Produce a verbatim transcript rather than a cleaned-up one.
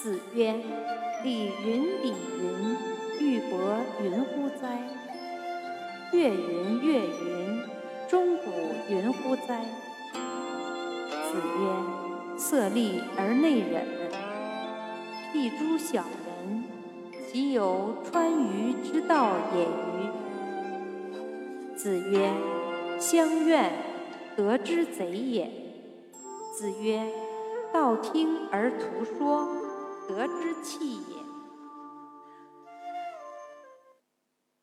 子曰：礼云礼云，玉帛云乎哉？月云月云，钟鼓云乎哉？子曰：色厉而内荏，譬诸小人，其有川渝之道也与？子曰：乡怨，得之贼也。子曰：道听而图说，得之器也。